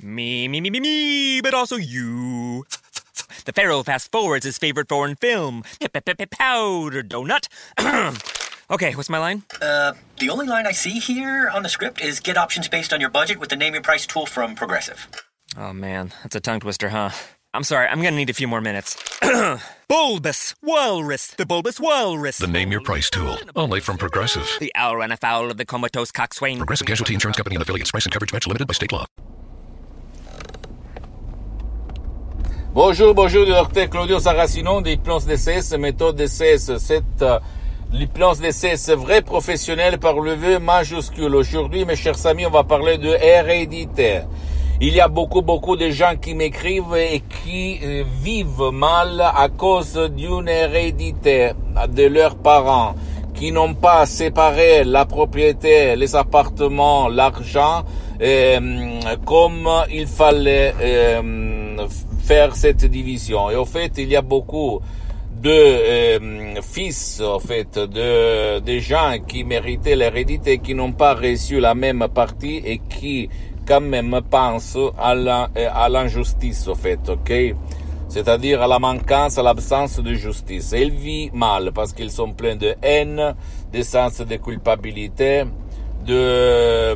Me, but also you. The Pharaoh fast forwards his favorite foreign film, Powder Donut. Okay, what's my line? The only line I see here on the script is get options based on your budget with the Name Your Price tool from Progressive. Oh man, that's a tongue twister, huh? I'm sorry, I'm gonna need a few more minutes. Bulbous Walrus, the Bulbous Walrus. The Name Your Price tool, only from Progressive. The owl ran afoul of the comatose coxswain. Progressive Casualty Insurance Company and affiliates. Price and coverage match limited by state law. Bonjour, du docteur Claudio Saracino de l'hypnose DCS, méthode DCS. C'est l'hypnose DCS vrai professionnel par le V majuscule. Aujourd'hui, mes chers amis, on va parler de hérédité. Il y a beaucoup de gens qui m'écrivent et qui vivent mal à cause d'une hérédité de leurs parents, qui n'ont pas séparé la propriété, les appartements, l'argent, comme il fallait faire cette division. Et au fait, il y a beaucoup de fils, en fait, de gens qui méritaient l'hérédité, qui n'ont pas reçu la même partie et qui quand même pensent à l'injustice, en fait, ok? C'est-à-dire à la manquance, à l'absence de justice. Et ils vivent mal parce qu'ils sont pleins de haine, de sens de culpabilité, de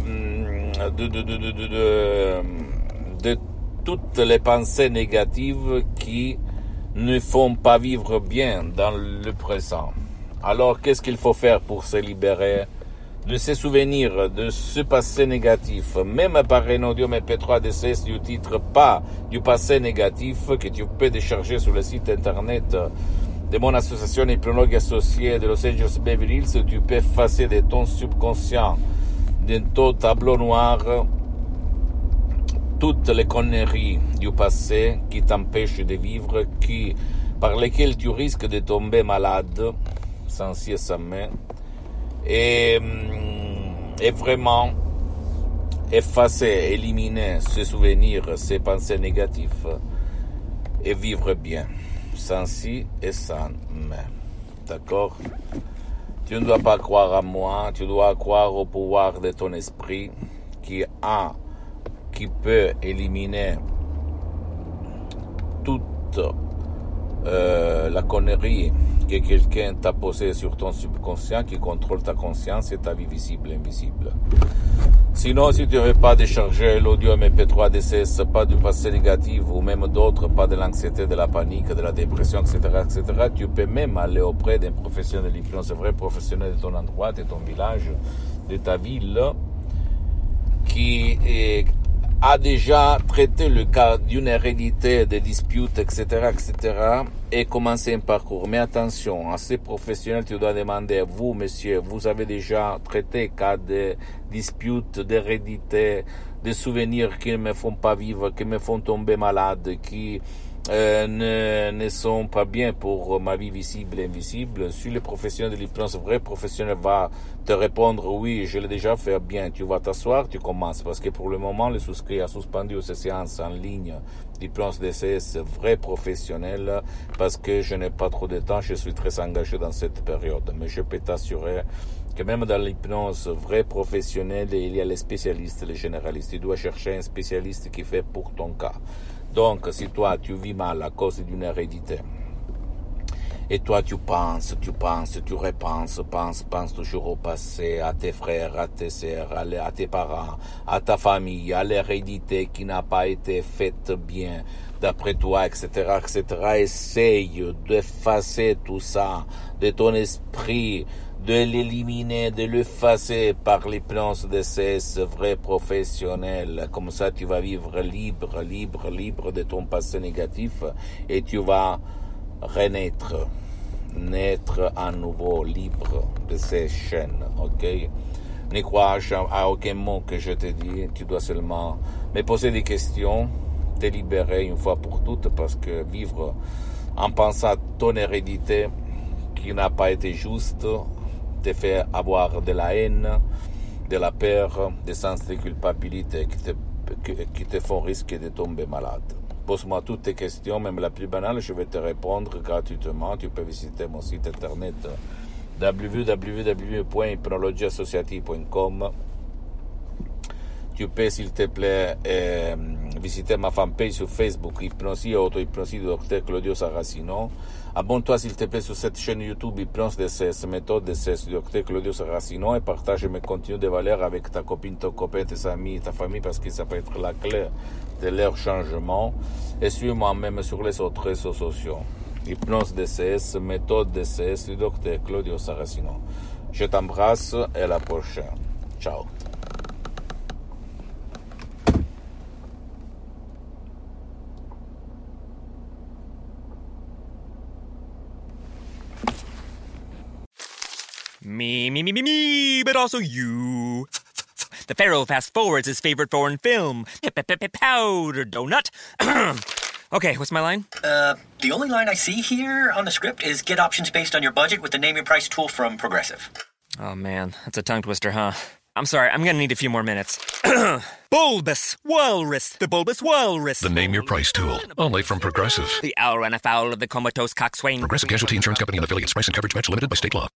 toutes les pensées négatives qui ne font pas vivre bien dans le présent. Alors, qu'est-ce qu'il faut faire pour se libérer de ces souvenirs, de ce passé négatif, même par un audio MP3 DCS du titre pas du passé négatif que tu peux décharger sur le site internet de mon association hypnologue associée de Los Angeles Beverly Hills. Tu peux effacer de ton subconscient, de ton tableau noir, toutes les conneries du passé qui t'empêchent de vivre, par lesquelles tu risques de tomber malade, sans ci et sans mais, et vraiment effacer, éliminer ces souvenirs, ces pensées négatives, et vivre bien, sans ci et sans mais. D'accord? Tu ne dois pas croire à moi, tu dois croire au pouvoir de ton esprit qui peut éliminer toute la connerie que quelqu'un t'a posée sur ton subconscient, qui contrôle ta conscience et ta vie visible et invisible. Sinon, si tu ne veux pas décharger l'audio MP3 DCS, pas du passé négatif ou même d'autres, pas de l'anxiété, de la panique, de la dépression, etc., tu peux même aller auprès d'un professionnel de l'hypnose, vrai professionnel de ton endroit, de ton village, de ta ville, qui a déjà traité le cas d'une hérédité, des disputes, etc., et commencé un parcours. Mais attention, à ces professionnels, tu dois demander, vous, monsieur, vous avez déjà traité cas de disputes, d'hérédité, des souvenirs qui ne me font pas vivre, qui me font tomber malade, qui ne sont pas bien pour ma vie visible et invisible. Si le professionnel de l'hypnose, vrai professionnel, va te répondre oui, je l'ai déjà fait bien, tu vas t'asseoir, tu commences, parce que pour le moment, le souscrit a suspendu ces séances en ligne d'hypnose DCS vrai professionnel, parce que je n'ai pas trop de temps, je suis très engagé dans cette période. Mais je peux t'assurer que même dans l'hypnose vrai professionnel, il y a les spécialistes, les généralistes. Tu dois chercher un spécialiste qui fait pour ton cas. Donc, si toi, tu vis mal à cause d'une hérédité, et toi, tu penses, tu repenses, penses toujours au passé, à tes frères, à tes sœurs, à tes parents, à ta famille, à l'hérédité qui n'a pas été faite bien, d'après toi, etc., essaye d'effacer tout ça de ton esprit, de l'éliminer, de l'effacer par l'hypnose DCS vrai professionnel. Comme ça, tu vas vivre libre de ton passé négatif et tu vas naître à nouveau libre de ces chaînes, ok? Ne crois à aucun mot que je te dis, tu dois seulement me poser des questions, te libérer une fois pour toutes, parce que vivre en pensant à ton hérédité qui n'a pas été juste te fait avoir de la haine, de la peur, des sens de culpabilité qui te font risquer de tomber malade. Pose-moi toutes tes questions, même la plus banale, je vais te répondre gratuitement. Tu peux visiter mon site internet www.hypnologieassociative.com. tu peux, s'il te plaît, visiter ma fanpage sur Facebook, Hypnosie et Auto-Hypnosie du Dr Claudio Saracino. Abonne-toi, s'il te plaît, sur cette chaîne YouTube Hypnose DCS, méthode DCS du Dr Claudio Saracino, et partage mes contenus de valeur avec ta copine, ton copain, tes amis, ta famille, parce que ça peut être la clé de leur changement. Et suis-moi même sur les autres réseaux sociaux. Hypnose DCS, méthode DCS du Dr Claudio Saracino. Je t'embrasse et à la prochaine. Ciao. Me, but also you. The Pharaoh fast forwards his favorite foreign film, Powder Donut. Okay, what's my line? The only line I see here on the script is get options based on your budget with the Name Your Price tool from Progressive. Oh man, that's a tongue twister, huh? I'm sorry, I'm gonna need a few more minutes. Bulbous Walrus, the Bulbous Walrus. The Name Your Price tool, only from Progressive. The owl ran afoul of the comatose coxswain. Progressive Casualty Insurance Company and affiliates. Price and coverage match limited by state law.